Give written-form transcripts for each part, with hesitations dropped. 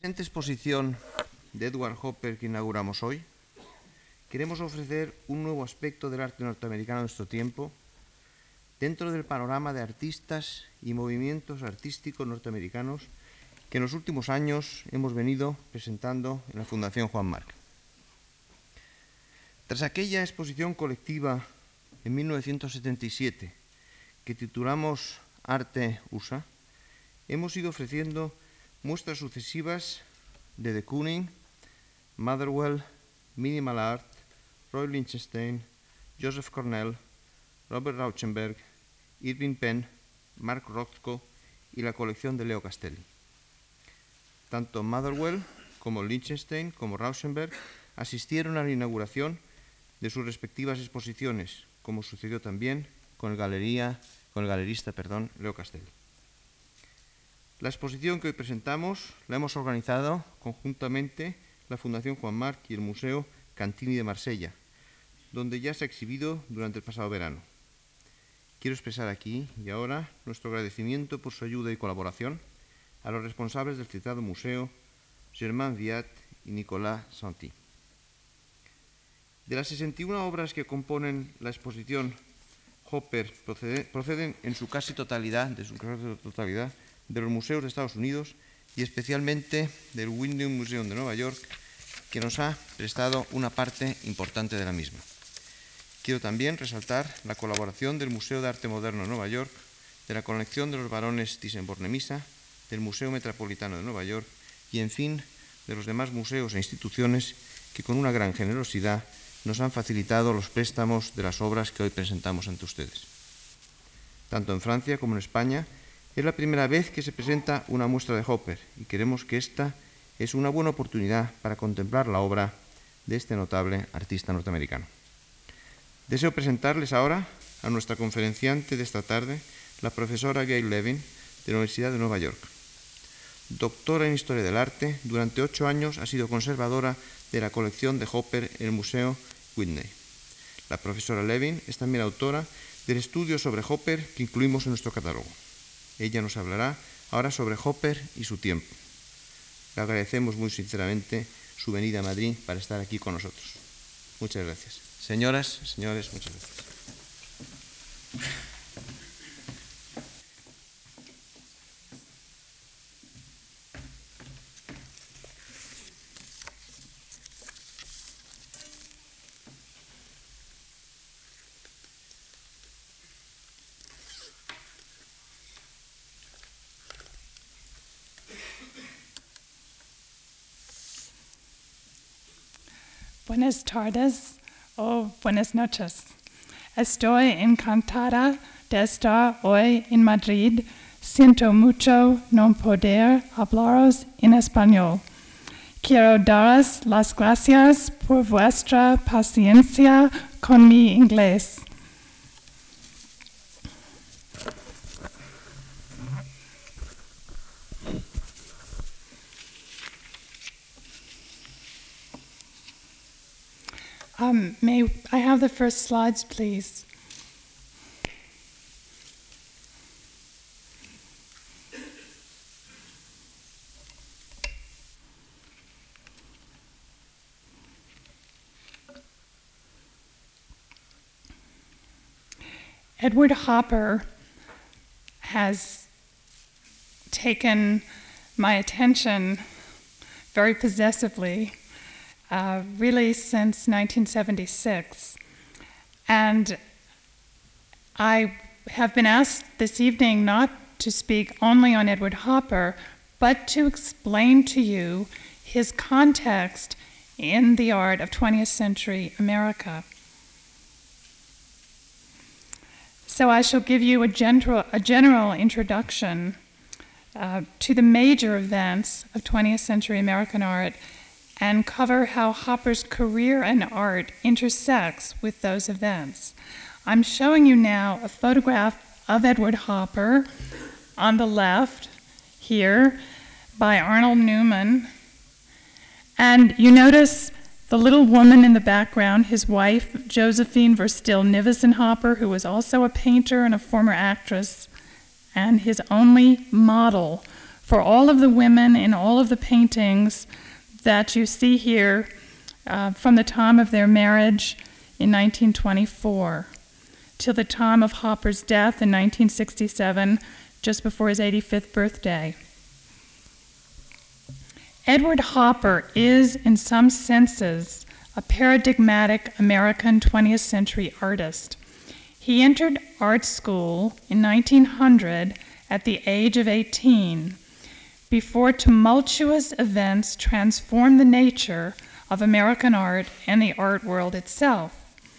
En esta exposición de Edward Hopper que inauguramos hoy, queremos ofrecer un nuevo aspecto del arte norteamericano de nuestro tiempo dentro del panorama de artistas y movimientos artísticos norteamericanos que en los últimos años hemos venido presentando en la Fundación Juan Marc. Tras aquella exposición colectiva en 1977 que titulamos Arte USA, hemos ido ofreciendo muestras sucesivas de de Kooning, Motherwell, Minimal Art, Roy Lichtenstein, Joseph Cornell, Robert Rauschenberg, Irving Penn, Mark Rothko y la colección de Leo Castelli. Tanto Motherwell como Lichtenstein como Rauschenberg asistieron a la inauguración de sus respectivas exposiciones, como sucedió también con el galerista Leo Castelli. La exposición que hoy presentamos la hemos organizado conjuntamente la Fundación Juan Marc y el Museo Cantini de Marsella, donde ya se ha exhibido durante el pasado verano. Quiero expresar aquí y ahora nuestro agradecimiento por su ayuda y colaboración a los responsables del citado museo, Germain Viat y Nicolas Santi. De las 61 obras que componen la exposición, Hopper proceden en su casi totalidad de los museos de Estados Unidos y especialmente del Whitney Museum de Nueva York, que nos ha prestado una parte importante de la misma. Quiero también resaltar la colaboración del Museo de Arte Moderno de Nueva York, de la colección de los barones Thyssen-Bornemisza, del Museo Metropolitano de Nueva York y, en fin, de los demás museos e instituciones que con una gran generosidad nos han facilitado los préstamos de las obras que hoy presentamos ante ustedes. Tanto en Francia como en España, es la primera vez que se presenta una muestra de Hopper y creemos que esta es una buena oportunidad para contemplar la obra de este notable artista norteamericano. Deseo presentarles ahora a nuestra conferenciante de esta tarde, la profesora Gail Levin, de la Universidad de Nueva York. Doctora en Historia del Arte, durante 8 años ha sido conservadora de la colección de Hopper en el Museo Whitney. La profesora Levin es también autora del estudio sobre Hopper que incluimos en nuestro catálogo. Ella nos hablará ahora sobre Hopper y su tiempo. Le agradecemos muy sinceramente su venida a Madrid para estar aquí con nosotros. Muchas gracias. Señoras, señores, muchas gracias. Buenas tardes o buenas noches. Estoy encantada de estar hoy en Madrid. Siento mucho no poder hablaros en español. Quiero daros las gracias por vuestra paciencia con mi inglés. May I have the first slides, please? Edward Hopper has taken my attention very possessively really since 1976. And I have been asked this evening not to speak only on Edward Hopper, but to explain to you his context in the art of 20th century America. So I shall give you a general introduction to the major events of 20th century American art and cover how Hopper's career and art intersects with those events. I'm showing you now a photograph of Edward Hopper on the left here by Arnold Newman. And you notice the little woman in the background, his wife, Josephine Verstill Nivison Hopper, who was also a painter and a former actress, and his only model for all of the women in all of the paintings that you see here from the time of their marriage in 1924 till the time of Hopper's death in 1967, just before his 85th birthday. Edward Hopper is, in some senses, a paradigmatic American 20th century artist. He entered art school in 1900 at the age of 18, before tumultuous events transformed the nature of American art and the art world itself.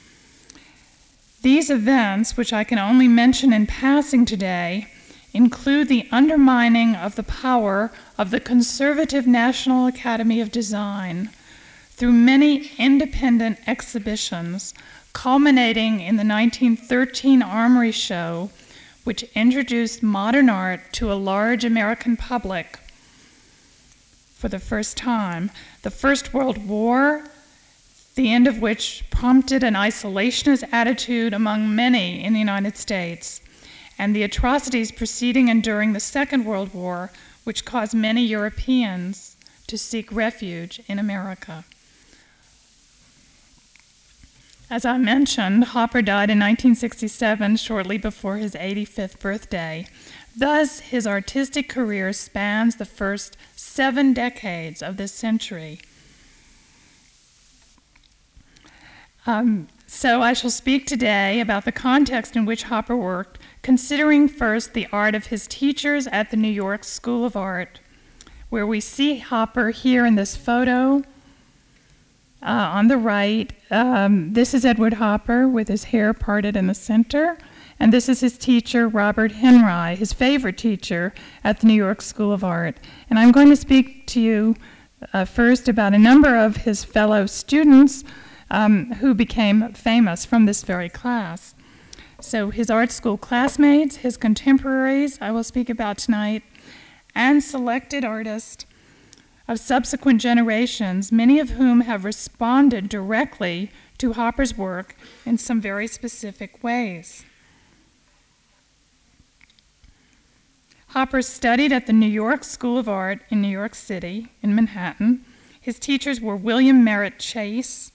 These events, which I can only mention in passing today, include the undermining of the power of the conservative National Academy of Design through many independent exhibitions, culminating in the 1913 Armory Show, which introduced modern art to a large American public for the first time. The First World War, the end of which prompted an isolationist attitude among many in the United States, and the atrocities preceding and during the Second World War, which caused many Europeans to seek refuge in America. As I mentioned, Hopper died in 1967, shortly before his 85th birthday. Thus, his artistic career spans the first 7 decades of this century. So I shall speak today about the context in which Hopper worked, considering first the art of his teachers at the New York School of Art, where we see Hopper here in this photo on the right. This is Edward Hopper with his hair parted in the center, and this is his teacher, Robert Henry, his favorite teacher at the New York School of Art. And I'm going to speak to you first about a number of his fellow students who became famous from this very class. So his art school classmates, his contemporaries, I will speak about tonight, and selected artists of subsequent generations, many of whom have responded directly to Hopper's work in some very specific ways. Hopper studied at the New York School of Art in New York City, in Manhattan. His teachers were William Merritt Chase,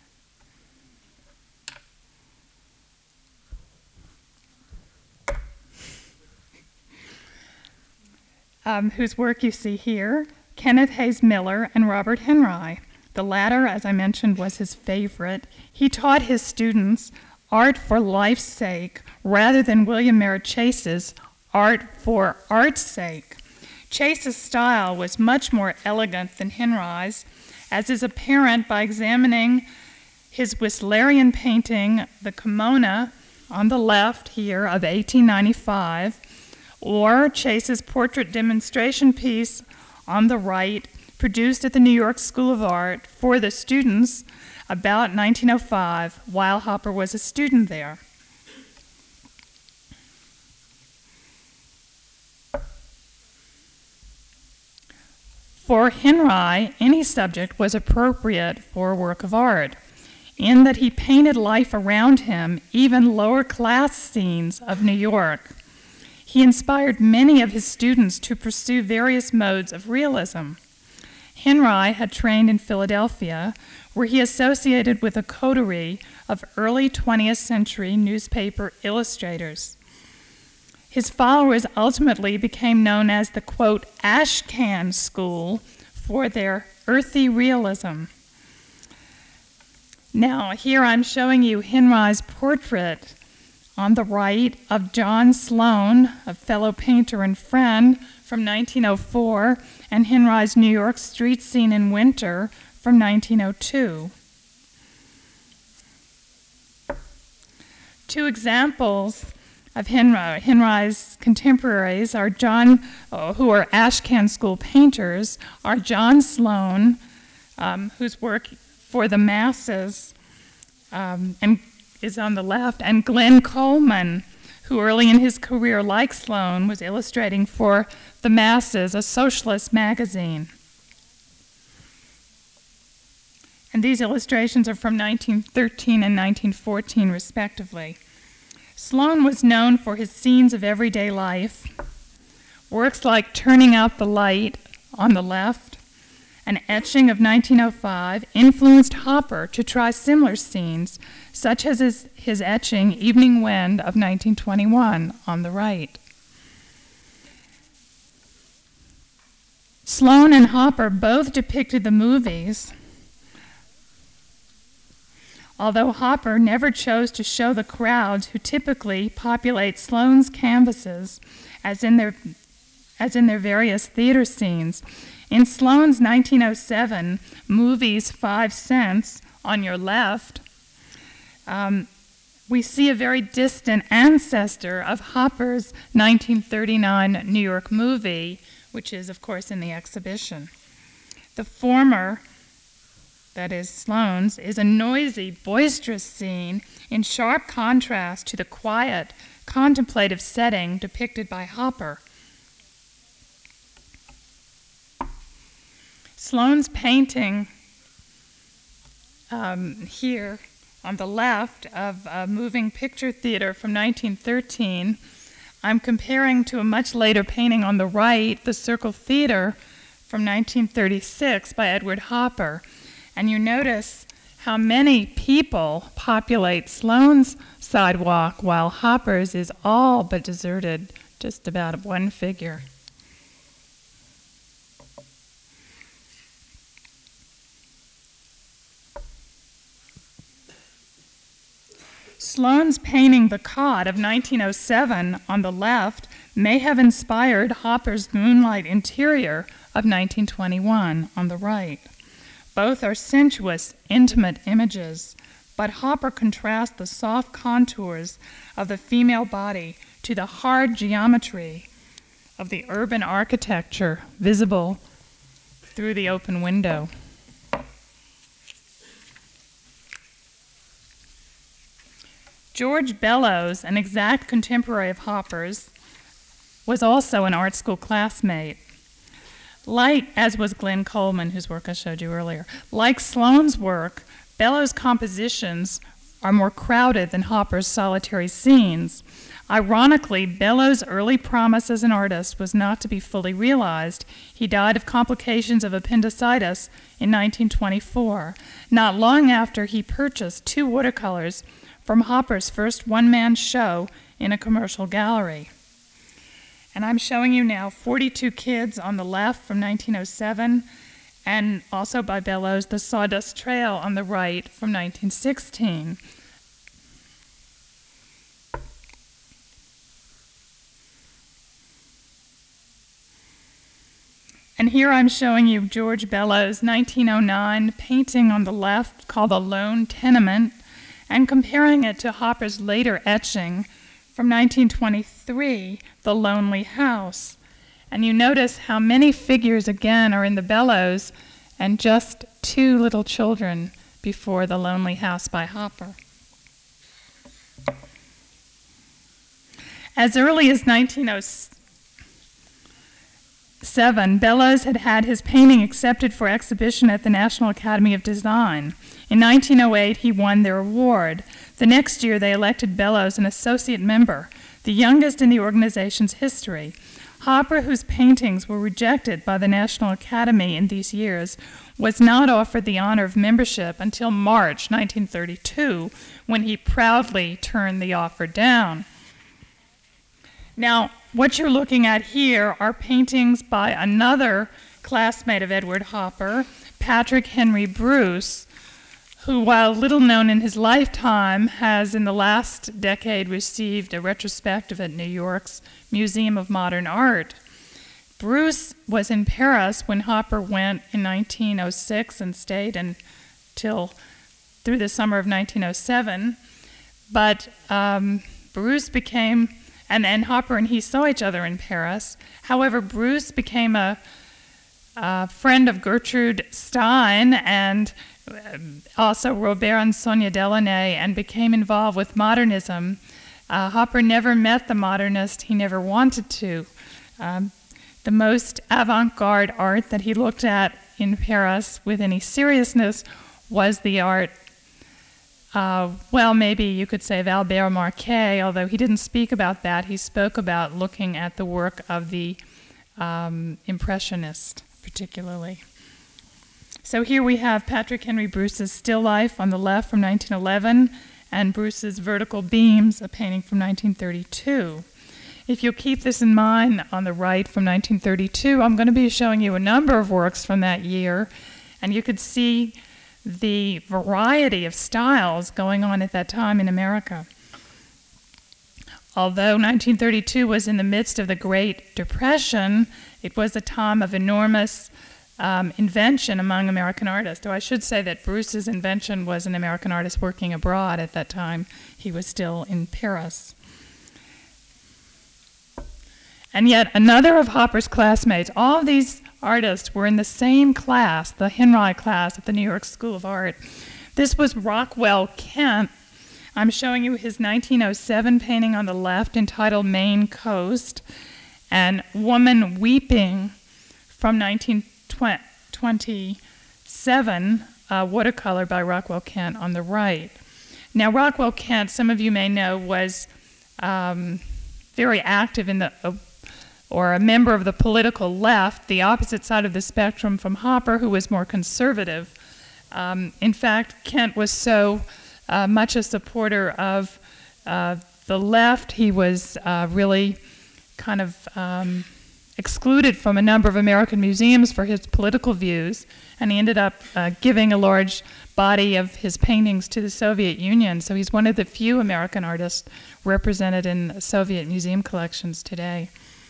whose work you see here, Kenneth Hayes Miller, and Robert Henry. The latter, as I mentioned, was his favorite. He taught his students art for life's sake rather than William Merritt Chase's art for art's sake. Chase's style was much more elegant than Henry's, as is apparent by examining his Whistlerian painting, the Kimona, on the left here of 1895, or Chase's portrait demonstration piece on the right, produced at the New York School of Art for the students about 1905, while Hopper was a student there. For Henry, any subject was appropriate for a work of art, in that he painted life around him, even lower-class scenes of New York. He inspired many of his students to pursue various modes of realism. Henry had trained in Philadelphia, where he associated with a coterie of early 20th century newspaper illustrators. His followers ultimately became known as the, quote, Ashcan School for their earthy realism. Now, here I'm showing you Henry's portrait on the right of John Sloan, a fellow painter and friend, from 1904, and Henry's New York street scene in winter from 1902. Two examples of Henry's contemporaries are who are Ashcan School painters, are John Sloan, whose work for the masses and is on the left, and Glenn Coleman, who early in his career, like Sloan, was illustrating for The Masses, a socialist magazine. And these illustrations are from 1913 and 1914, respectively. Sloan was known for his scenes of everyday life, Works like Turning Out the Light on the left, an etching of 1905, influenced Hopper to try similar scenes, such as his etching Evening Wind of 1921 on the right. Sloane and Hopper both depicted the movies, although Hopper never chose to show the crowds who typically populate Sloane's canvases as in their various theater scenes. In Sloane's 1907 Movies 5 Cents, on your left, we see a very distant ancestor of Hopper's 1939 New York movie, which is, of course, in the exhibition. The former, that is Sloane's, is a noisy, boisterous scene in sharp contrast to the quiet, contemplative setting depicted by Hopper. Sloane's painting here on the left of a moving picture theater from 1913, I'm comparing to a much later painting on the right, The Circle Theater from 1936 by Edward Hopper. And you notice how many people populate Sloane's sidewalk while Hopper's is all but deserted, just about one figure. Sloane's painting The Cod of 1907 on the left may have inspired Hopper's Moonlight Interior of 1921 on the right. Both are sensuous, intimate images, but Hopper contrasts the soft contours of the female body to the hard geometry of the urban architecture visible through the open window. George Bellows, an exact contemporary of Hopper's, was also an art school classmate. As was Glenn Coleman, whose work I showed you earlier. Like Sloane's work, Bellows' compositions are more crowded than Hopper's solitary scenes. Ironically, Bellows' early promise as an artist was not to be fully realized. He died of complications of appendicitis in 1924, not long after he purchased 2 watercolors from Hopper's first one-man show in a commercial gallery. And I'm showing you now 42 Kids on the left from 1907, and also by Bellows, The Sawdust Trail on the right from 1916. And here I'm showing you George Bellows' 1909 painting on the left called A Lone Tenement, and comparing it to Hopper's later etching from 1923, The Lonely House. And you notice how many figures again are in the Bellows and just 2 little children before The Lonely House by Hopper. As early as 1907, Bellows had had his painting accepted for exhibition at the National Academy of Design. In 1908, he won their award. The next year, they elected Bellows an associate member, the youngest in the organization's history. Hopper, whose paintings were rejected by the National Academy in these years, was not offered the honor of membership until March 1932, when he proudly turned the offer down. Now, what you're looking at here are paintings by another classmate of Edward Hopper, Patrick Henry Bruce, who, while little known in his lifetime, has in the last decade received a retrospective at New York's Museum of Modern Art. Bruce was in Paris when Hopper went in 1906 and stayed until through the summer of 1907. But Bruce became, and Hopper and he saw each other in Paris. However, Bruce became a friend of Gertrude Stein and also Robert and Sonia Delaunay, and became involved with modernism. Hopper never met the modernist he never wanted to. The most avant-garde art that he looked at in Paris with any seriousness was the art, maybe you could say of Albert Marquet, although he didn't speak about that. He spoke about looking at the work of the Impressionist, particularly. So here we have Patrick Henry Bruce's Still Life on the left from 1911, and Bruce's Vertical Beams, a painting from 1932. If you'll keep this in mind, on the right from 1932, I'm going to be showing you a number of works from that year, and you could see the variety of styles going on at that time in America. Although 1932 was in the midst of the Great Depression, it was a time of enormous invention among American artists. Though I should say that Bruce's invention was an American artist working abroad at that time. He was still in Paris. And yet another of Hopper's classmates, all of these artists were in the same class, the Henry class at the New York School of Art. This was Rockwell Kent. I'm showing you his 1907 painting on the left entitled Maine Coast, and Woman Weeping from 1927, watercolor by Rockwell Kent on the right. Now Rockwell Kent, some of you may know, was very active in the or a member of the political left, the opposite side of the spectrum from Hopper, who was more conservative. In fact, Kent was so much a supporter of the left, he was really kind of excluded from a number of American museums for his political views, and he ended up giving a large body of his paintings to the Soviet Union. So he's one of the few American artists represented in Soviet museum collections today.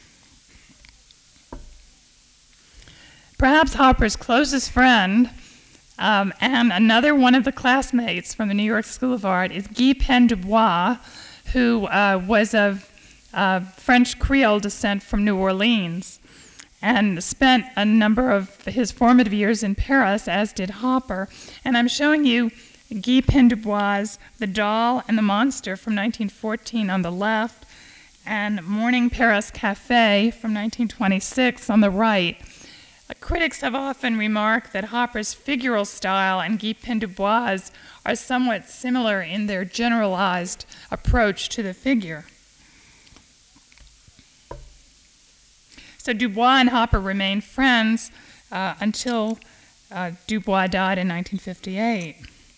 Perhaps Hopper's closest friend, and another one of the classmates from the New York School of Art, is Guy Pen du Bois, who was of French Creole descent from New Orleans, and spent a number of his formative years in Paris, as did Hopper. And I'm showing you Guy Pen du Bois' The Doll and the Monster from 1914 on the left, and Morning Paris Café from 1926 on the right. Critics have often remarked that Hopper's figural style and Guy Pen du Bois' are somewhat similar in their generalized approach to the figure. So Du Bois and Hopper remained friends until Du Bois died in 1958.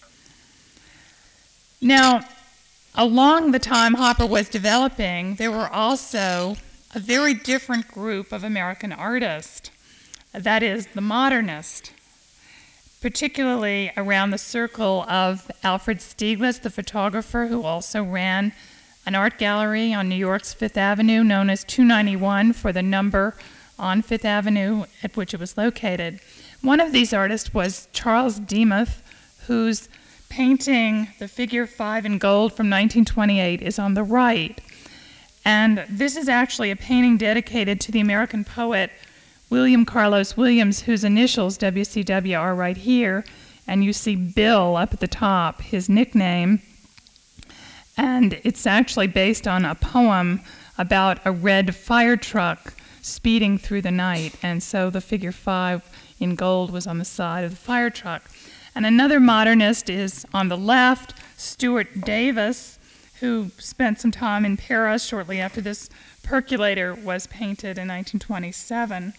Now, along the time Hopper was developing, there were also a very different group of American artists. That is, the modernist, particularly around the circle of Alfred Stieglitz, the photographer, who also ran an art gallery on New York's Fifth Avenue known as 291 for the number on Fifth Avenue at which it was located. One of these artists was Charles Demuth, whose painting, The Figure 5 in Gold from 1928, is on the right. And this is actually a painting dedicated to the American poet William Carlos Williams, whose initials, WCW, are right here, and you see Bill up at the top, his nickname. And it's actually based on a poem about a red fire truck speeding through the night, and so the figure 5 in gold was on the side of the fire truck. And another modernist is on the left, Stuart Davis, who spent some time in Paris shortly after this percolator was painted in 1927.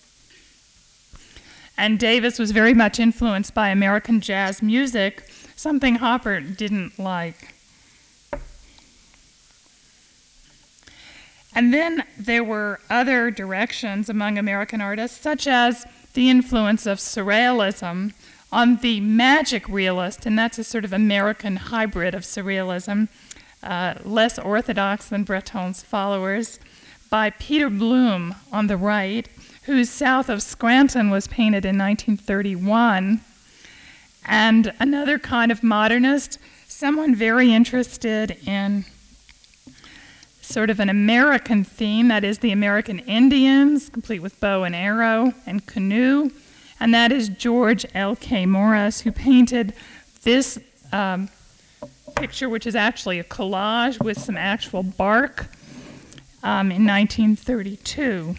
And Davis was very much influenced by American jazz music, something Hopper didn't like. And then there were other directions among American artists, such as the influence of surrealism on the magic realist, and that's a sort of American hybrid of surrealism, less orthodox than Breton's followers, by Peter Bloom on the right, whose South of Scranton was painted in 1931, and another kind of modernist, someone very interested in sort of an American theme, that is the American Indians, complete with bow and arrow and canoe, and that is George L.K. Morris, who painted this picture, which is actually a collage with some actual bark, in 1932.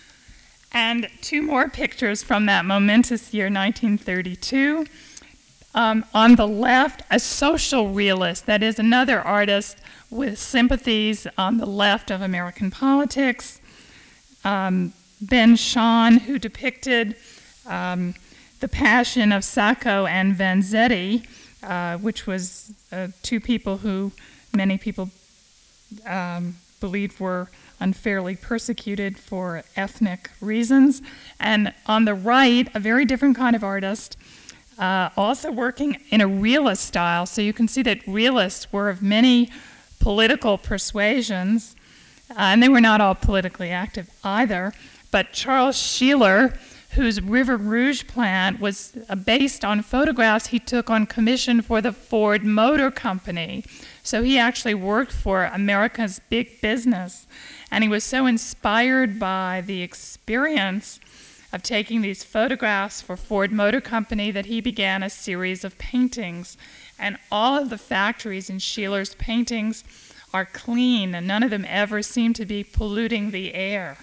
And two more pictures from that momentous year, 1932. On the left, a social realist, that is another artist with sympathies on the left of American politics. Ben Shahn, who depicted the passion of Sacco and Vanzetti, which was two people who many people believed were unfairly persecuted for ethnic reasons. And on the right, a very different kind of artist, also working in a realist style. So you can see that realists were of many political persuasions, and they were not all politically active either. But Charles Sheeler, whose River Rouge plant was based on photographs he took on commission for the Ford Motor Company. So he actually worked for America's big business. And he was so inspired by the experience of taking these photographs for Ford Motor Company that he began a series of paintings. And all of the factories in Sheeler's paintings are clean, and none of them ever seem to be polluting the air.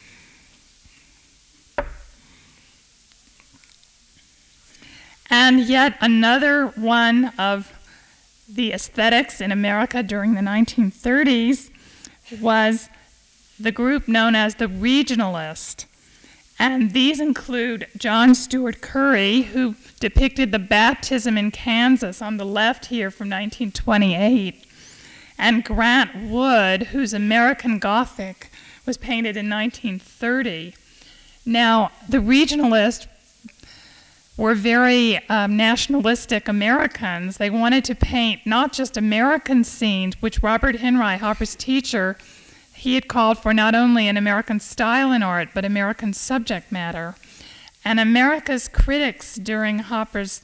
And yet another one of the aesthetics in America during the 1930s was the group known as the regionalist. And these include John Stewart Curry, who depicted the baptism in Kansas on the left here from 1928, and Grant Wood, whose American Gothic was painted in 1930. Now, the regionalists were very nationalistic Americans. They wanted to paint not just American scenes, which Robert Henry, Hopper's teacher, he had called for not only an American style in art, but American subject matter. And America's critics during Hopper's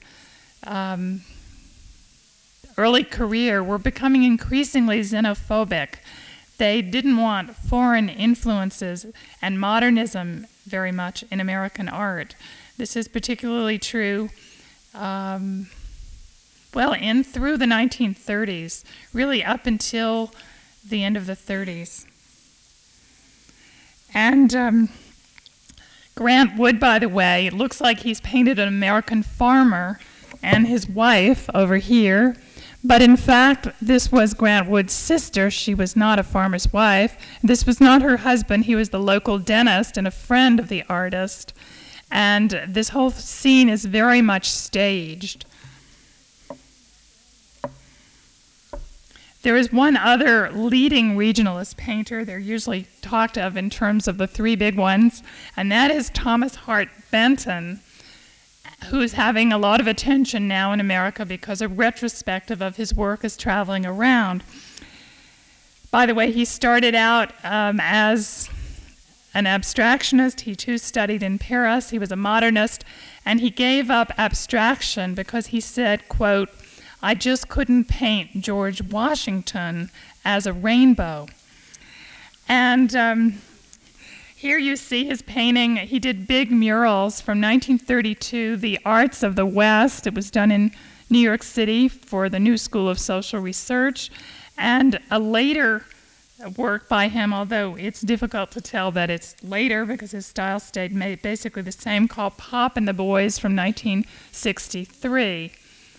early career were becoming increasingly xenophobic. They didn't want foreign influences and modernism very much in American art. This is particularly true, through the 1930s, really up until the end of the 30s. And Grant Wood, by the way, it looks like he's painted an American farmer and his wife over here. But in fact, this was Grant Wood's sister. She was not a farmer's wife. This was not her husband. He was the local dentist and a friend of the artist. And this whole scene is very much staged. There is one other leading regionalist painter. They're usually talked of in terms of the three big ones, and that is Thomas Hart Benton, who's having a lot of attention now in America because a retrospective of his work is traveling around. By the way, he started out as an abstractionist. He too studied in Paris. He was a modernist, and he gave up abstraction because he said, quote, "I just couldn't paint George Washington as a rainbow." And here you see his painting. He did big murals from 1932, The Arts of the West. It was done in New York City for the New School of Social Research. And a later work by him, although it's difficult to tell that it's later because his style stayed basically the same, called Pop and the Boys from 1963.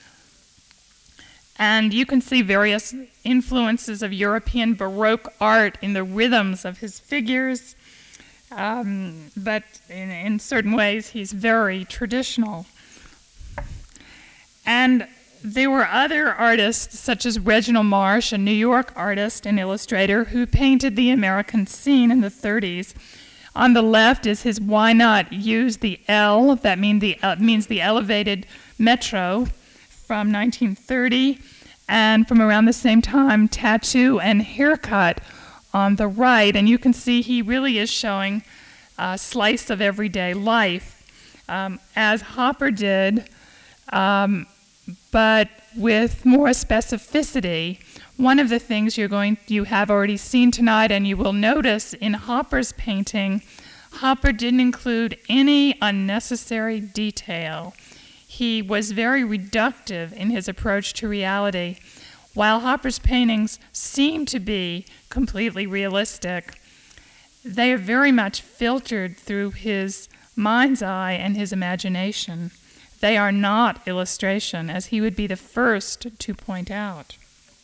And you can see various influences of European Baroque art in the rhythms of his figures, but in certain ways he's very traditional. And there were other artists, such as Reginald Marsh, a New York artist and illustrator, who painted the American scene in the 30s. On the left is his Why Not Use the L, that means the elevated metro, from 1930, and from around the same time, Tattoo and Haircut on the right. And you can see he really is showing a slice of everyday life, as Hopper did, but with more specificity. One of the things you have already seen tonight, and you will notice in Hopper's painting, Hopper didn't include any unnecessary detail. He was very reductive in his approach to reality. While Hopper's paintings seem to be completely realistic, they are very much filtered through his mind's eye and his imagination. They are not illustration, as he would be the first to point out.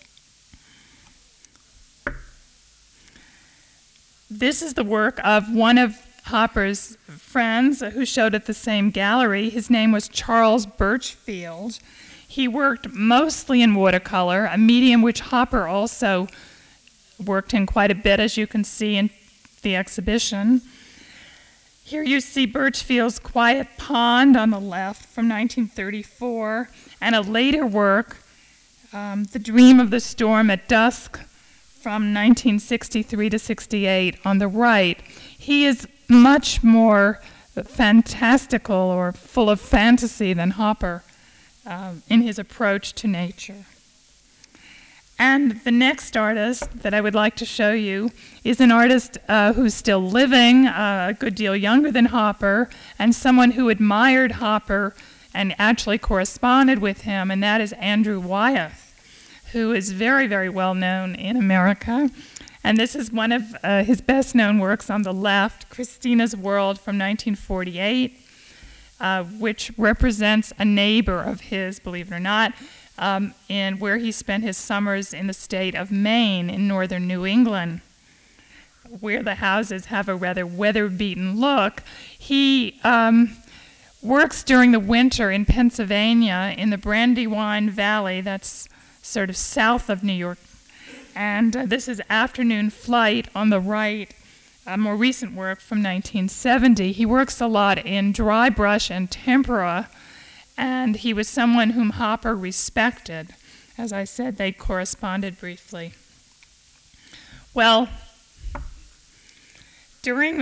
This is the work of one of Hopper's friends who showed at the same gallery. His name was Charles Birchfield. He worked mostly in watercolor, a medium which Hopper also worked in quite a bit, as you can see in the exhibition. Here you see Birchfield's Quiet Pond on the left from 1934, and a later work, The Dream of the Storm at Dusk, from 1963 to 68 on the right. He is much more fantastical or full of fantasy than Hopper in his approach to nature. And the next artist that I would like to show you is an artist who's still living, a good deal younger than Hopper, and someone who admired Hopper and actually corresponded with him, and that is Andrew Wyeth, who is very, very well known in America. And this is one of his best known works on the left, Christina's World from 1948, which represents a neighbor of his, believe it or not, in where he spent his summers in the state of Maine in northern New England, where the houses have a rather weather-beaten look. He works during the winter in Pennsylvania in the Brandywine Valley, that's sort of south of New York. And this is Afternoon Flight on the right, a more recent work from 1970. He works a lot in dry brush and tempera, and he was someone whom Hopper respected. As I said, they corresponded briefly. Well, during the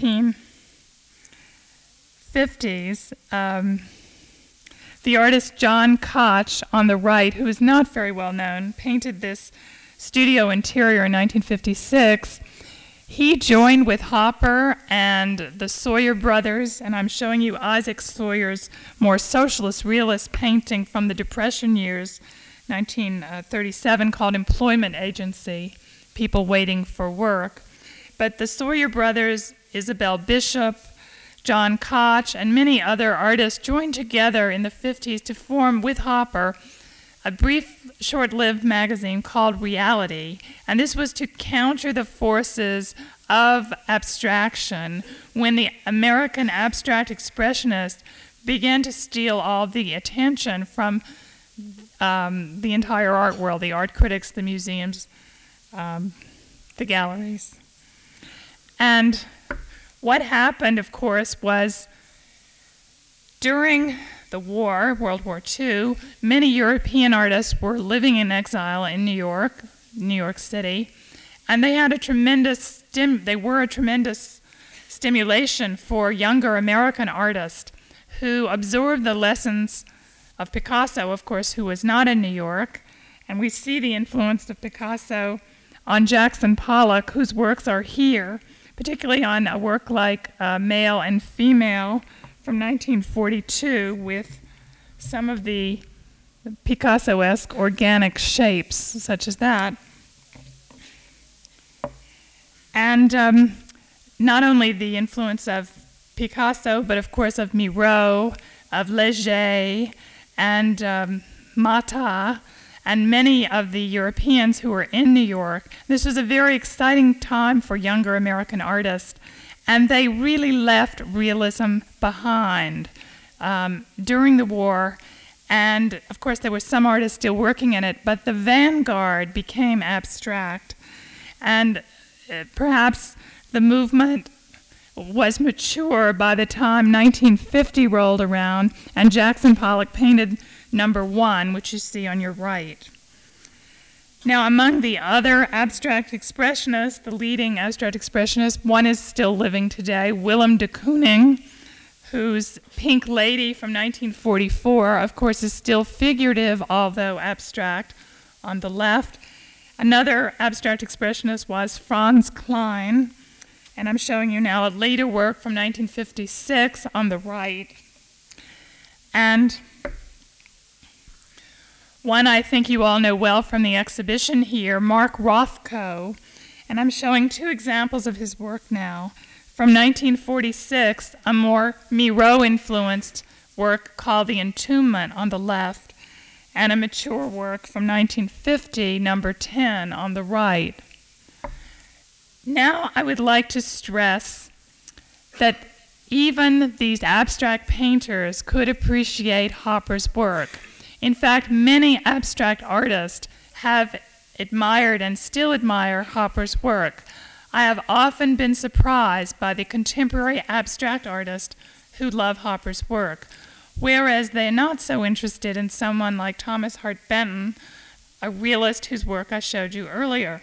1950s, the artist John Koch on the right, who is not very well known, painted this studio interior in 1956. He joined with Hopper and the Sawyer brothers, and I'm showing you Isaac Sawyer's more socialist realist painting from the Depression years, 1937, called Employment Agency, People Waiting for Work. But the Sawyer brothers, Isabel Bishop, John Koch, and many other artists joined together in the 50s to form, with Hopper, a brief, short-lived magazine called Reality, and this was to counter the forces of abstraction when the American abstract expressionists began to steal all the attention from the entire art world, the art critics, the museums, the galleries. And what happened, of course, was during the war, World War II, many European artists were living in exile in New York City, and they had a tremendous stimulation for younger American artists who absorbed the lessons of Picasso, of course, who was not in New York, and we see the influence of Picasso on Jackson Pollock, whose works are here, particularly on a work like Male and Female from 1942 with some of the Picasso-esque organic shapes, such as that. And not only the influence of Picasso, but of course of Miro, of Léger, and Mata, and many of the Europeans who were in New York. This was a very exciting time for younger American artists, and they really left realism behind during the war. And of course there were some artists still working in it, but the vanguard became abstract. And perhaps the movement was mature by the time 1950 rolled around, and Jackson Pollock painted number 1, which you see on your right. Now, among the other abstract expressionists, the leading abstract expressionists, one is still living today, Willem de Kooning, whose Pink Lady from 1944, of course, is still figurative, although abstract, on the left. Another abstract expressionist was Franz Klein, and I'm showing you now a later work from 1956 on the right. And one I think you all know well from the exhibition here, Mark Rothko, and I'm showing 2 examples of his work now. From 1946, a more Miro-influenced work called The Entombment on the left, and a mature work from 1950, number 10, on the right. Now I would like to stress that even these abstract painters could appreciate Hopper's work. In fact, many abstract artists have admired and still admire Hopper's work. I have often been surprised by the contemporary abstract artists who love Hopper's work, whereas they're not so interested in someone like Thomas Hart Benton, a realist whose work I showed you earlier.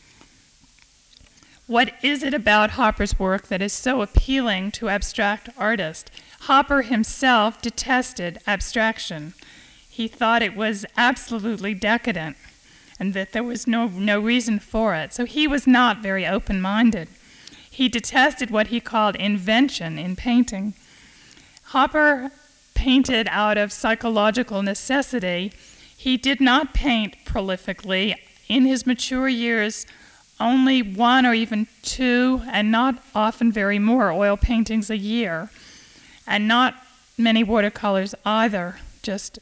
What is it about Hopper's work that is so appealing to abstract artists? Hopper himself detested abstraction. He thought it was absolutely decadent and that there was no reason for it. So he was not very open-minded. He detested what he called invention in painting. Hopper painted out of psychological necessity. He did not paint prolifically. In his mature years, only 1 or even 2, and not often very more, oil paintings a year, and not many watercolors either, just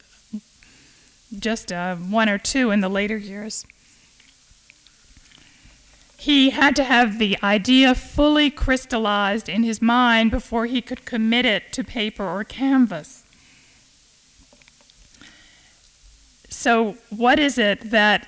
1 or 2 in the later years. He had to have the idea fully crystallized in his mind before he could commit it to paper or canvas. So what is it that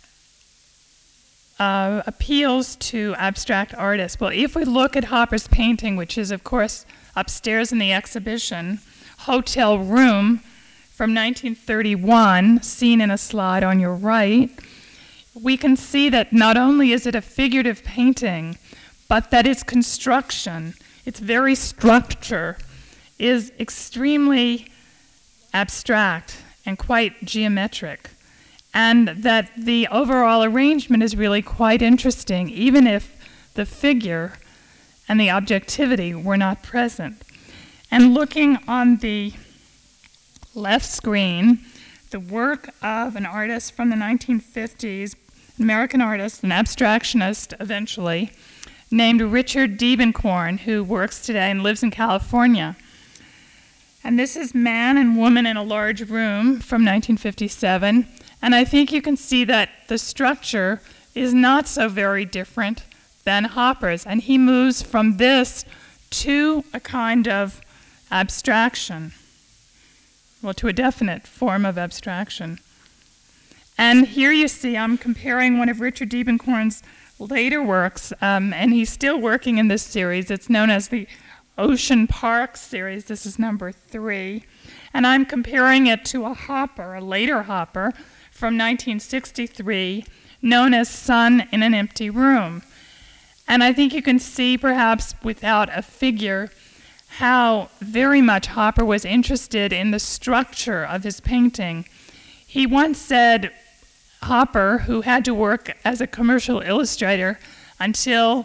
appeals to abstract artists? Well, if we look at Hopper's painting, which is, of course, upstairs in the exhibition, Hotel Room from 1931, seen in a slide on your right, we can see that not only is it a figurative painting, but that its construction, its very structure, is extremely abstract and quite geometric, and that the overall arrangement is really quite interesting, even if the figure and the objectivity were not present. And looking on the left screen, the work of an artist from the 1950s, an American artist, an abstractionist eventually, named Richard Diebenkorn, who works today and lives in California. And this is Man and Woman in a Large Room from 1957. And I think you can see that the structure is not so very different than Hopper's. And he moves from this to a kind of abstraction, well, to a definite form of abstraction. And here you see I'm comparing one of Richard Diebenkorn's later works, and he's still working in this series. It's known as the Ocean Park series. This is number 3. And I'm comparing it to a Hopper, a later Hopper, from 1963, known as Sun in an Empty Room. And I think you can see, perhaps without a figure, how very much Hopper was interested in the structure of his painting. He once said, Hopper, who had to work as a commercial illustrator until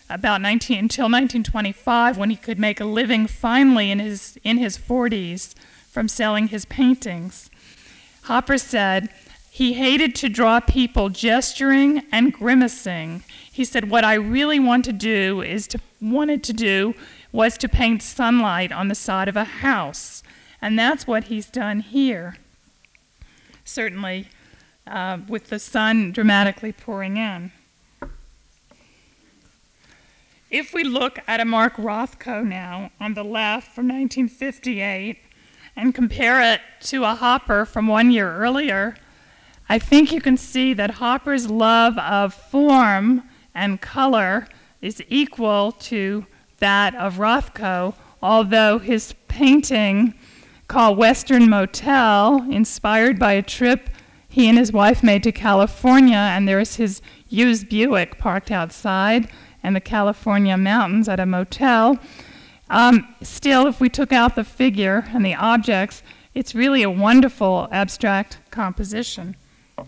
1925, when he could make a living finally in his 40s from selling his paintings. Hopper said he hated to draw people gesturing and grimacing. He said, what I really wanted to do was to paint sunlight on the side of a house. And that's what he's done here, certainly with the sun dramatically pouring in. If we look at a Mark Rothko now on the left from 1958 and compare it to a Hopper from 1 year earlier, I think you can see that Hopper's love of form and color is equal to that of Rothko, although his painting called Western Motel, inspired by a trip he and his wife made to California, and there's his used Buick parked outside and the California mountains at a motel. Still, if we took out the figure and the objects, it's really a wonderful abstract composition.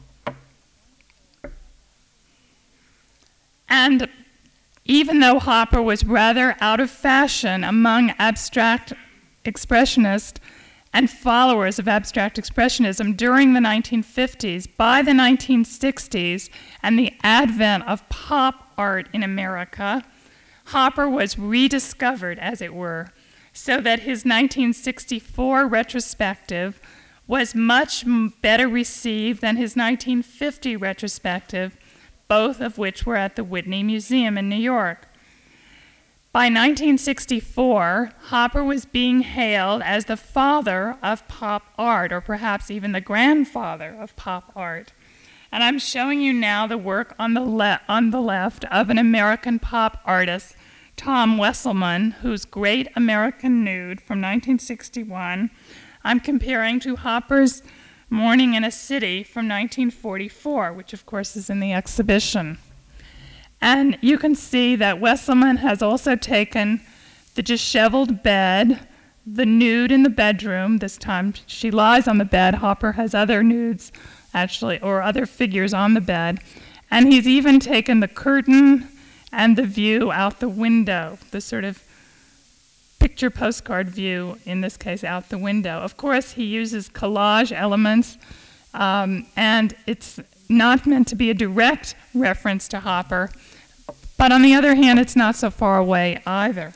And even though Hopper was rather out of fashion among abstract expressionists and followers of abstract expressionism during the 1950s, by the 1960s and the advent of pop art in America, Hopper was rediscovered, as it were. so that his 1964 retrospective was much better received than his 1950 retrospective, both of which were at the Whitney Museum in New York. By 1964, Hopper was being hailed as the father of pop art, or perhaps even the grandfather of pop art. And I'm showing you now the work on the left of an American pop artist, Tom Wesselman, whose Great American Nude from 1961 I'm comparing to Hopper's Morning in a City from 1944, which of course is in the exhibition. And you can see that Wesselman has also taken the disheveled bed, the nude in the bedroom. This time she lies on the bed. Hopper has other nudes, actually, or other figures on the bed. And he's even taken the curtain and the view out the window, the sort of picture postcard view, in this case, out the window. Of course, he uses collage elements, and it's not meant to be a direct reference to Hopper, but on the other hand, it's not so far away either.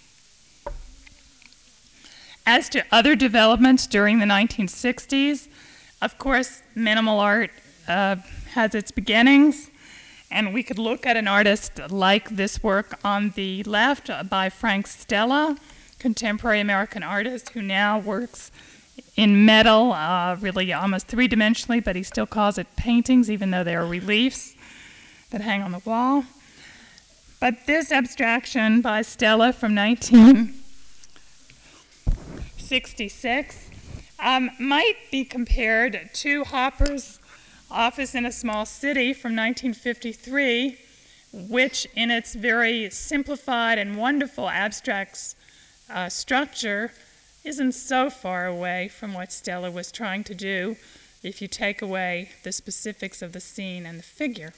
As to other developments during the 1960s, of course, minimal art has its beginnings, and we could look at an artist like this work on the left by Frank Stella, contemporary American artist who now works in metal, really almost three-dimensionally, but he still calls it paintings, even though they are reliefs that hang on the wall. But this abstraction by Stella from 1966 might be compared to Hopper's Office in a Small City from 1953, which in its very simplified and wonderful abstract structure isn't so far away from what Stella was trying to do if you take away the specifics of the scene and the figure.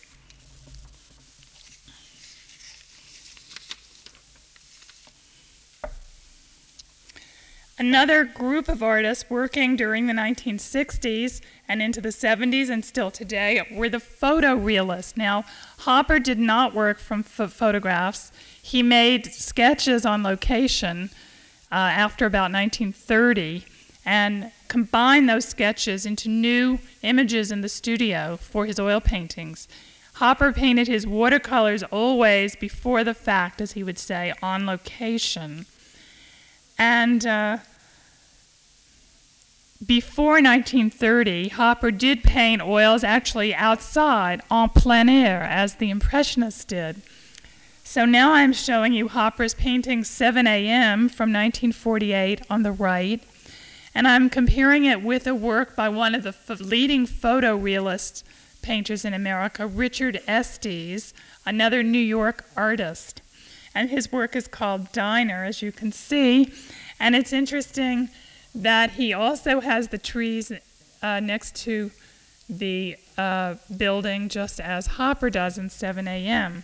Another group of artists working during the 1960s and into the 70s and still today were the photorealists. Now, Hopper did not work from photographs. He made sketches on location after about 1930 and combined those sketches into new images in the studio for his oil paintings. Hopper painted his watercolors always before the fact, as he would say, on location. And before 1930, Hopper did paint oils actually outside, en plein air, as the Impressionists did. So now I'm showing you Hopper's painting 7 a.m. from 1948 on the right, and I'm comparing it with a work by one of the leading photorealist painters in America, Richard Estes, another New York artist. And his work is called Diner, as you can see. And it's interesting that he also has the trees next to the building, just as Hopper does in 7 a.m.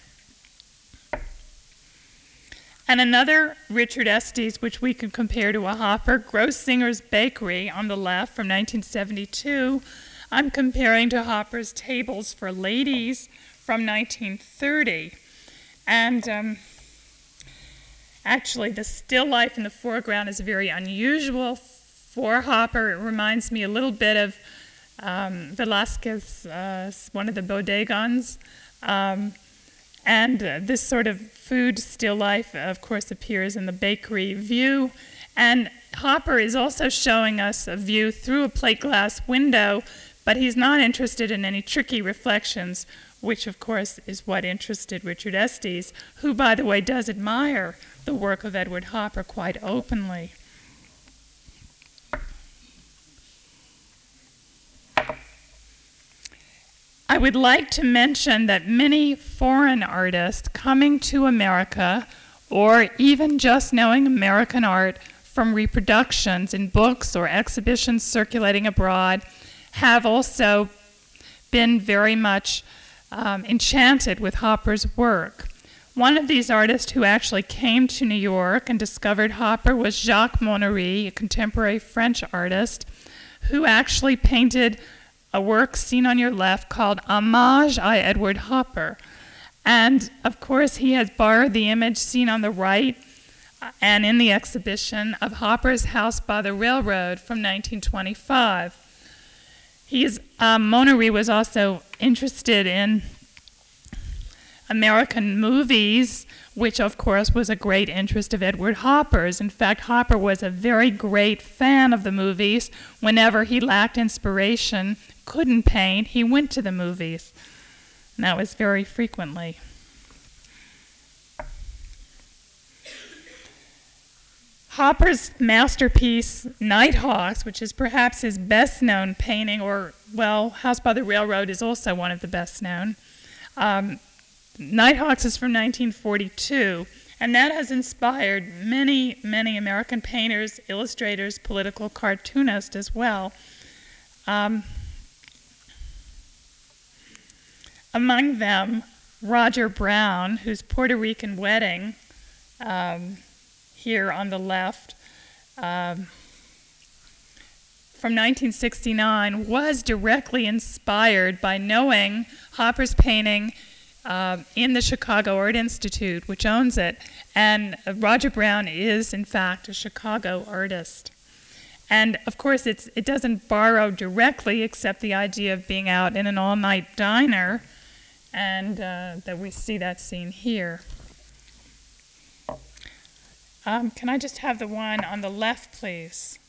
And another Richard Estes, which we can compare to a Hopper, Grossinger's Bakery on the left from 1972. I'm comparing to Hopper's Tables for Ladies from 1930. And actually, the still life in the foreground is very unusual for Hopper. It reminds me a little bit of Velázquez, one of the bodegons. And this sort of food still life, of course, appears in the bakery view. And Hopper is also showing us a view through a plate glass window, but he's not interested in any tricky reflections, which, of course, is what interested Richard Estes, who, by the way, does admire the work of Edward Hopper quite openly. I would like to mention that many foreign artists coming to America, or even just knowing American art from reproductions in books or exhibitions circulating abroad, have also been very much enchanted with Hopper's work. One of these artists who actually came to New York and discovered Hopper was Jacques Monnery, a contemporary French artist, who actually painted a work seen on your left called Hommage à Edward Hopper. And of course he has borrowed the image seen on the right and in the exhibition of Hopper's House by the Railroad from 1925. Monnery was also interested in American movies, which of course was a great interest of Edward Hopper's. In fact, Hopper was a very great fan of the movies. Whenever he lacked inspiration, couldn't paint, he went to the movies. And that was very frequently. Hopper's masterpiece, Nighthawks, which is perhaps his best-known painting, or, well, House by the Railroad is also one of the best-known. Nighthawks is from 1942, and that has inspired many, many American painters, illustrators, political cartoonists as well. Among them, Roger Brown, whose Puerto Rican Wedding, here on the left, from 1969, was directly inspired by knowing Hopper's painting in the Chicago Art Institute, which owns it. And Roger Brown is, in fact, a Chicago artist. And, of course, it doesn't borrow directly, except the idea of being out in an all-night diner, and that we see that scene here. Can I just have the one on the left, please?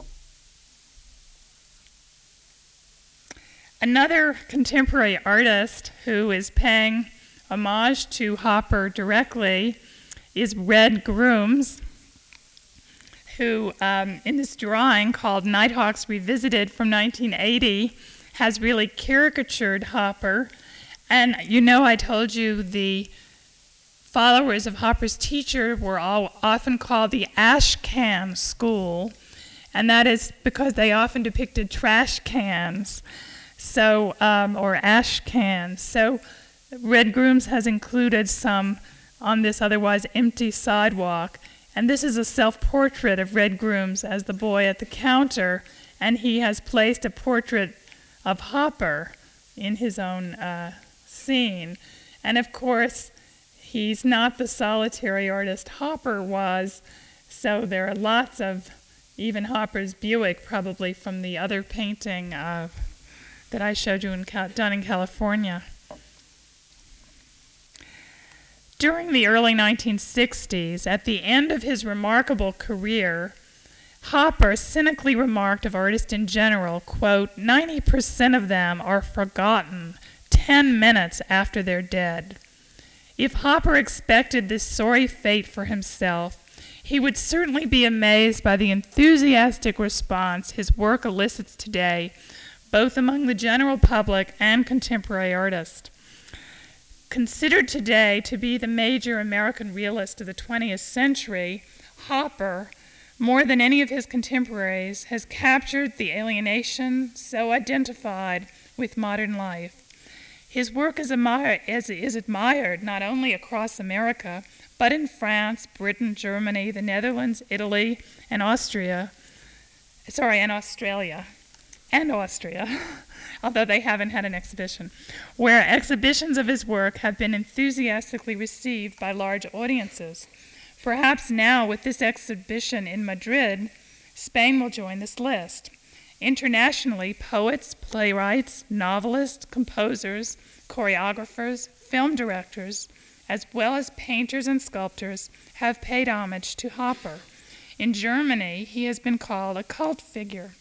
Another contemporary artist who is paying homage to Hopper directly is Red Grooms, who in this drawing called Nighthawks Revisited from 1980 has really caricatured Hopper. And you know, I told you the followers of Hopper's teacher were all often called the Ash Can School, and that is because they often depicted trash cans, so or ash cans. So Red Grooms has included some on this otherwise empty sidewalk, and this is a self-portrait of Red Grooms as the boy at the counter, and he has placed a portrait of Hopper in his own scene. And of course, he's not the solitary artist Hopper was, so there are lots of, even Hopper's Buick probably from the other painting that I showed you done in California. During the early 1960s, at the end of his remarkable career, Hopper cynically remarked of artists in general, quote, 90% of them are forgotten 10 minutes after they're dead. If Hopper expected this sorry fate for himself, he would certainly be amazed by the enthusiastic response his work elicits today, both among the general public and contemporary artists. Considered today to be the major American realist of the 20th century, Hopper, more than any of his contemporaries, has captured the alienation so identified with modern life. His work is admired not only across America, but in France, Britain, Germany, the Netherlands, Italy, and Austria, although they haven't had an exhibition, where exhibitions of his work have been enthusiastically received by large audiences. Perhaps now, with this exhibition in Madrid, Spain will join this list. Internationally, poets, playwrights, novelists, composers, choreographers, film directors, as well as painters and sculptors, have paid homage to Hopper. In Germany, he has been called a cult figure.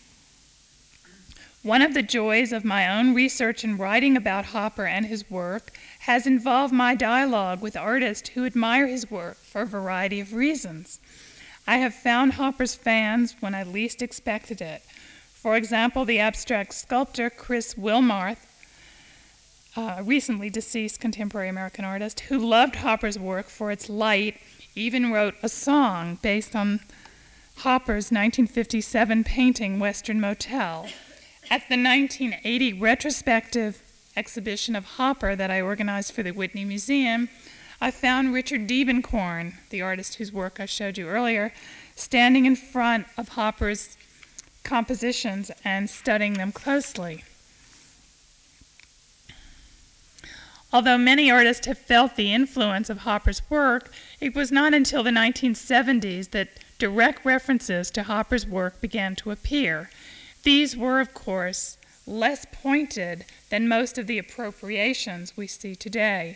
One of the joys of my own research and writing about Hopper and his work has involved my dialogue with artists who admire his work for a variety of reasons. I have found Hopper's fans when I least expected it. For example, the abstract sculptor Chris Wilmarth, a recently deceased contemporary American artist, who loved Hopper's work for its light, even wrote a song based on Hopper's 1957 painting, Western Motel. At the 1980 retrospective exhibition of Hopper that I organized for the Whitney Museum, I found Richard Diebenkorn, the artist whose work I showed you earlier, standing in front of Hopper's compositions and studying them closely. Although many artists have felt the influence of Hopper's work, it was not until the 1970s that direct references to Hopper's work began to appear. These were, of course, less pointed than most of the appropriations we see today.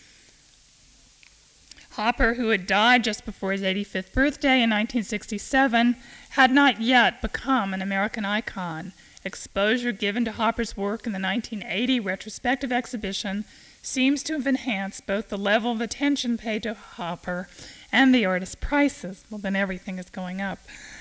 Hopper, who had died just before his 85th birthday in 1967, had not yet become an American icon. Exposure given to Hopper's work in the 1980 retrospective exhibition seems to have enhanced both the level of attention paid to Hopper and the artist's prices. Well, then everything is going up.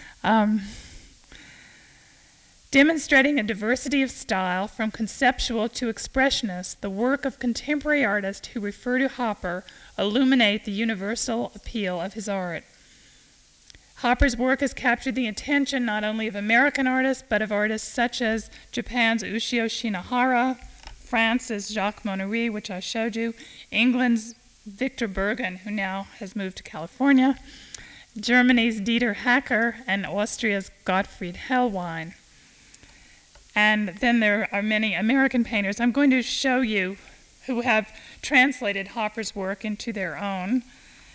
Demonstrating a diversity of style from conceptual to expressionist, the work of contemporary artists who refer to Hopper illuminate the universal appeal of his art. Hopper's work has captured the attention not only of American artists, but of artists such as Japan's Ushio Shinohara, France's Jacques Monnery, which I showed you, England's Victor Bergen, who now has moved to California, Germany's Dieter Hacker, and Austria's Gottfried Hellwein. And then there are many American painters I'm going to show you who have translated Hopper's work into their own.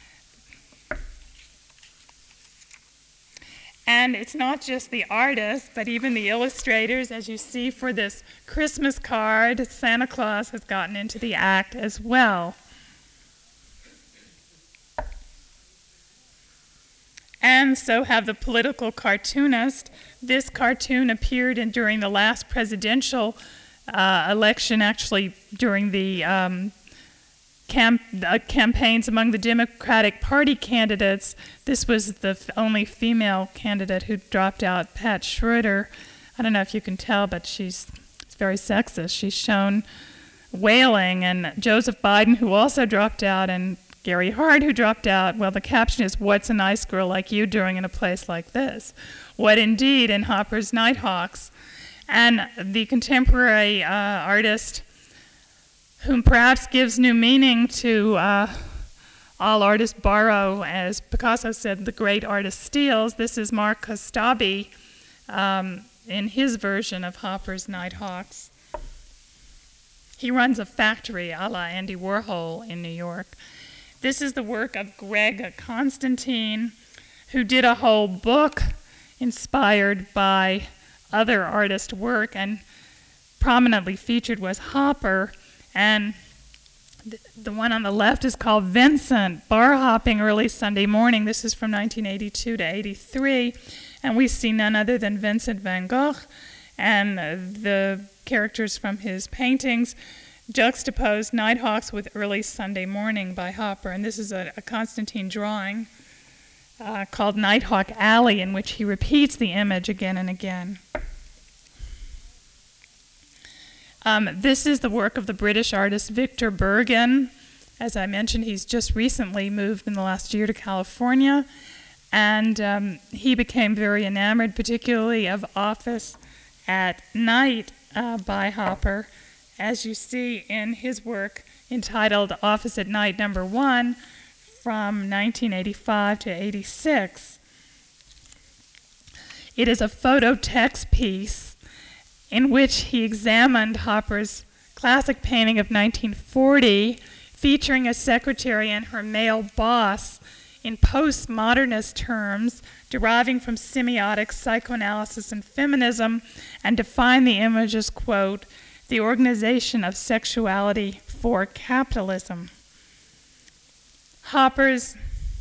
And it's not just the artists, but even the illustrators. As you see for this Christmas card, Santa Claus has gotten into the act as well. And so have the political cartoonists. This cartoon appeared during the last presidential election, actually during the campaigns among the Democratic Party candidates. This was the only female candidate who dropped out, Pat Schroeder. I don't know if you can tell, but it's very sexist. She's shown wailing, and Joseph Biden, who also dropped out, and Gary Hart, who dropped out. Well, the caption is, "What's a nice girl like you doing in a place like this?" What indeed in Hopper's Nighthawks. And the contemporary artist whom perhaps gives new meaning to all artists borrow, as Picasso said, the great artist steals. This is Mark Kostabi in his version of Hopper's Nighthawks. He runs a factory a la Andy Warhol in New York. This is the work of Greg Constantine, who did a whole book inspired by other artist work, and prominently featured was Hopper. And the one on the left is called Vincent, Bar Hopping Early Sunday Morning. This is from 1982 to 83. And we see none other than Vincent van Gogh and the characters from his paintings juxtaposed Nighthawks with Early Sunday Morning by Hopper. And this is a Constantine drawing called Nighthawk Alley, in which he repeats the image again and again. This is the work of the British artist Victor Bergen. As I mentioned, he's just recently moved in the last year to California, and he became very enamored, particularly of Office at Night by Hopper, as you see in his work entitled Office at Night No. 1 from 1985 to 86. It is a photo text piece in which he examined Hopper's classic painting of 1940, featuring a secretary and her male boss in postmodernist terms, deriving from semiotics, psychoanalysis, and feminism, and defined the image as, quote, the organization of sexuality for capitalism. Hopper's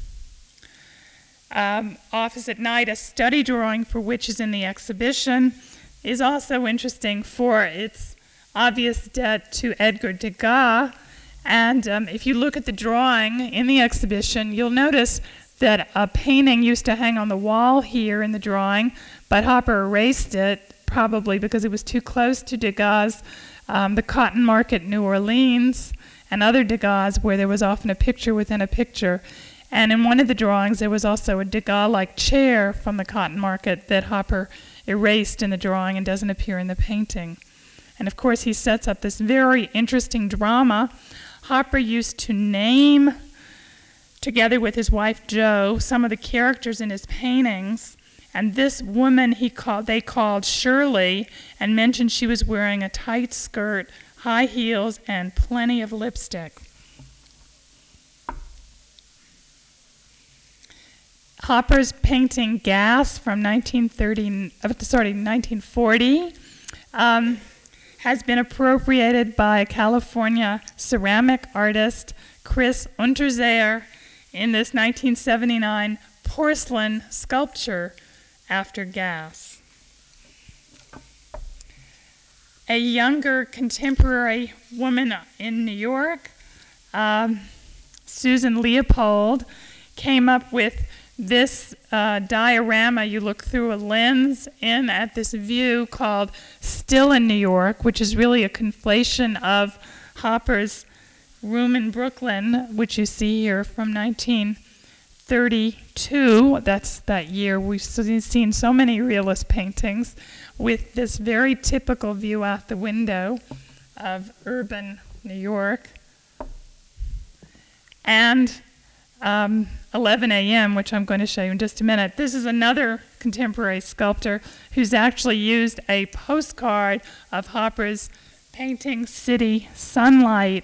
Office at Night, a study drawing for which is in the exhibition, is also interesting for its obvious debt to Edgar Degas. And if you look at the drawing in the exhibition, you'll notice that a painting used to hang on the wall here in the drawing, but Hopper erased it, probably because it was too close to Degas' The Cotton Market, New Orleans, and other Degas where there was often a picture within a picture. And in one of the drawings, there was also a Degas-like chair from the Cotton Market that Hopper erased in the drawing and doesn't appear in the painting. And of course, he sets up this very interesting drama. Hopper used to name, together with his wife Jo, some of the characters in his paintings. And this woman they called Shirley, and mentioned she was wearing a tight skirt high heels, and plenty of lipstick. Hopper's painting Gas from 1940 has been appropriated by California ceramic artist Chris Unterseher in this 1979 porcelain sculpture after Gas. A younger contemporary woman in New York, Susan Leopold, came up with this diorama. You look through a lens in at this view called Still in New York, which is really a conflation of Hopper's Room in Brooklyn, which you see here from 1932. That's that year. We've seen so many realist paintings with this very typical view out the window of urban New York. And 11 a.m., which I'm going to show you in just a minute. This is another contemporary sculptor who's actually used a postcard of Hopper's painting City Sunlight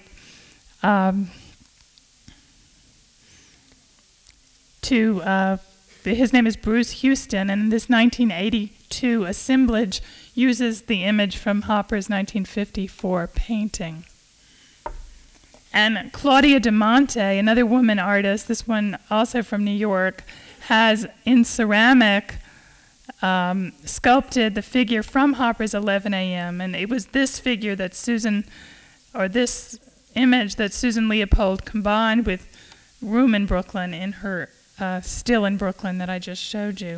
his name is Bruce Houston, and this 1982 assemblage uses the image from Hopper's 1954 painting. And Claudia de Monte, another woman artist, this one also from New York, has in ceramic sculpted the figure from Hopper's 11 a.m. And it was this figure that this image that Susan Leopold combined with Room in Brooklyn in her Still in Brooklyn that I just showed you.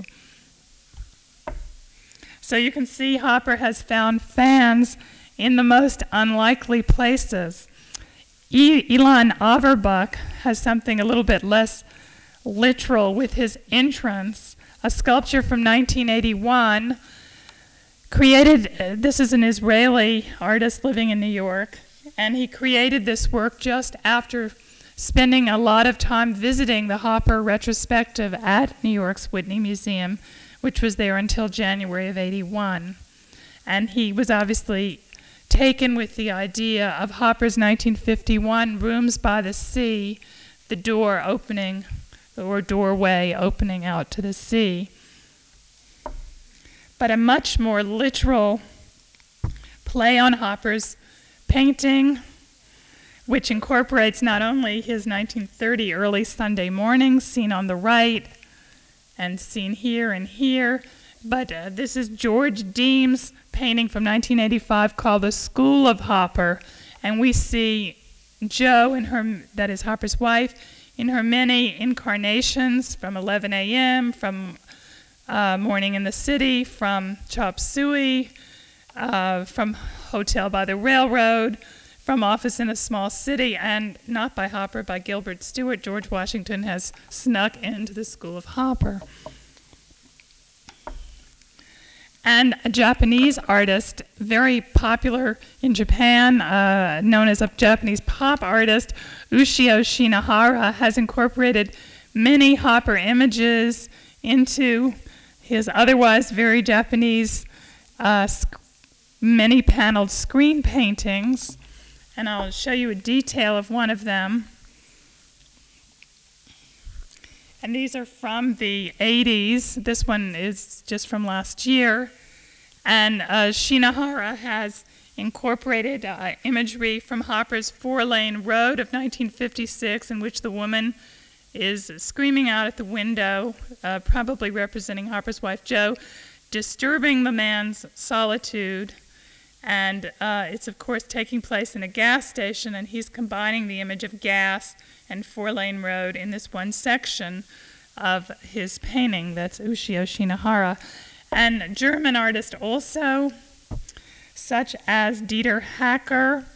So you can see Hopper has found fans in the most unlikely places. Elon Auerbach has something a little bit less literal with his entrance, a sculpture from 1981 created, this is an Israeli artist living in New York, and he created this work just after spending a lot of time visiting the Hopper retrospective at New York's Whitney Museum, which was there until January of '81. And he was obviously taken with the idea of Hopper's 1951 Rooms by the Sea, the door opening, or doorway opening out to the sea. But a much more literal play on Hopper's painting, which incorporates not only his 1930 early Sunday mornings seen on the right and seen here and here, but this is George Deems' painting from 1985 called The School of Hopper, and we see Jo, that is Hopper's wife, in her many incarnations from 11 a.m., from Morning in the City, from Chop Suey, from Hotel by the Railroad, from Office in a Small City, and not by Hopper, by Gilbert Stuart. George Washington has snuck into the School of Hopper. And a Japanese artist, very popular in Japan, known as a Japanese pop artist, Ushio Shinohara, has incorporated many Hopper images into his otherwise very Japanese many-paneled screen paintings. And I'll show you a detail of one of them. And these are from the 80s. This one is just from last year. And Shinohara has incorporated imagery from Hopper's Four-Lane Road of 1956, in which the woman is screaming out at the window, probably representing Hopper's wife Jo, disturbing the man's solitude. And it's, of course, taking place in a gas station, and he's combining the image of gas and Four-Lane Road in this one section of his painting. That's Ushio Shinohara. And German artists also, such as Dieter Hacker,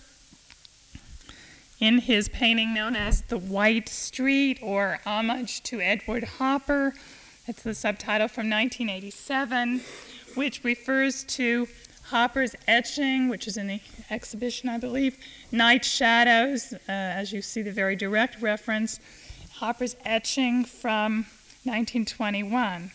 in his painting known as The White Street, or Homage to Edward Hopper. It's the subtitle from 1987, which refers to Hopper's etching, which is in the exhibition, I believe, Night Shadows, as you see the very direct reference, Hopper's etching from 1921.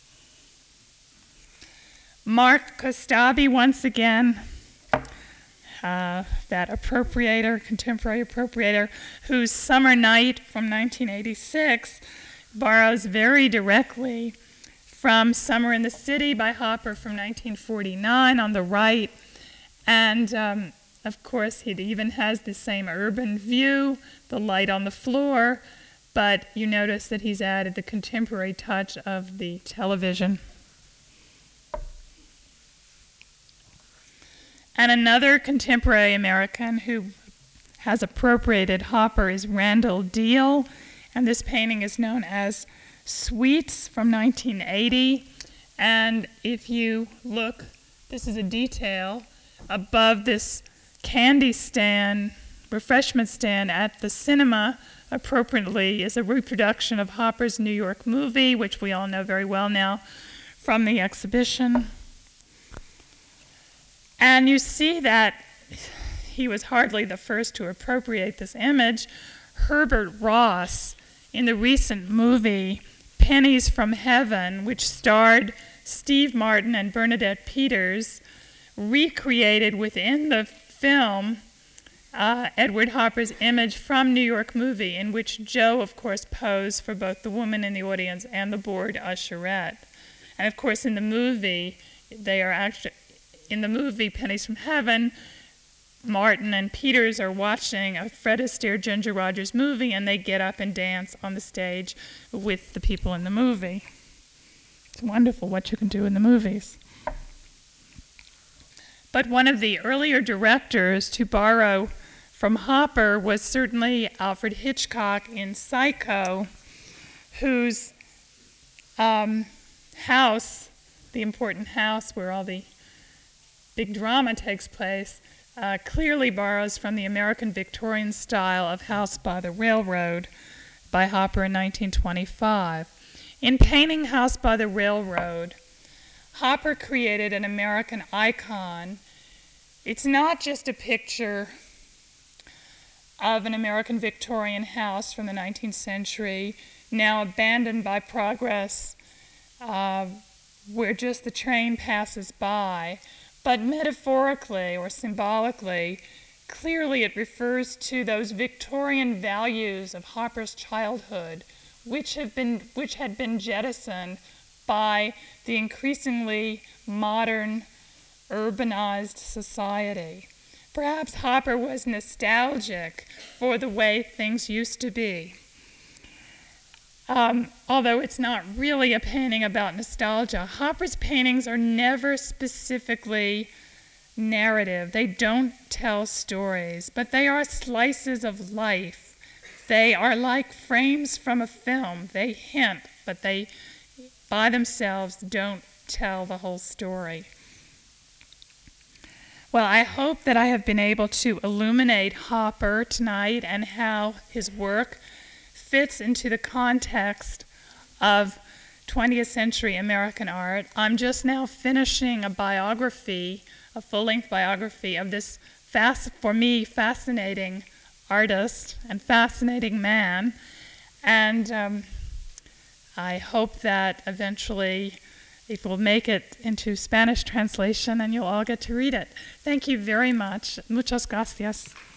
Mark Kostabi, once again, that appropriator, contemporary appropriator, whose Summer Night from 1986 borrows very directly from Summer in the City by Hopper from 1949 on the right. And of course, it even has the same urban view, the light on the floor, but you notice that he's added the contemporary touch of the television. And another contemporary American who has appropriated Hopper is Randall Deal, and this painting is known as Sweets from 1980. And if you look, this is a detail above this candy stand, refreshment stand at the cinema, appropriately is a reproduction of Hopper's New York movie, which we all know very well now from the exhibition. And you see that he was hardly the first to appropriate this image. Herbert Ross, in the recent movie Pennies from Heaven, which starred Steve Martin and Bernadette Peters, recreated within the film Edward Hopper's image from New York movie, in which Joe, of course, posed for both the woman in the audience and the bored usherette. And of course, in the movie, Pennies from Heaven, Martin and Peters are watching a Fred Astaire, Ginger Rogers movie, and they get up and dance on the stage with the people in the movie. It's wonderful what you can do in the movies. But one of the earlier directors to borrow from Hopper was certainly Alfred Hitchcock in Psycho, whose house, the important house where all the big drama takes place, clearly borrows from the American Victorian style of House by the Railroad by Hopper in 1925. In painting House by the Railroad, Hopper created an American icon. It's not just a picture of an American Victorian house from the 19th century, now abandoned by progress, where just the train passes by. But metaphorically or symbolically, clearly it refers to those Victorian values of Hopper's childhood, which had been jettisoned by the increasingly modern, urbanized society. Perhaps Hopper was nostalgic for the way things used to be. Although it's not really a painting about nostalgia, Hopper's paintings are never specifically narrative. They don't tell stories, but they are slices of life. They are like frames from a film. They hint, but they, by themselves, don't tell the whole story. Well, I hope that I have been able to illuminate Hopper tonight and how his work fits into the context of 20th century American art. I'm just now finishing a biography, a full-length biography of this, for me, fascinating artist and fascinating man. And I hope that eventually it will make it into Spanish translation and you'll all get to read it. Thank you very much. Muchas gracias.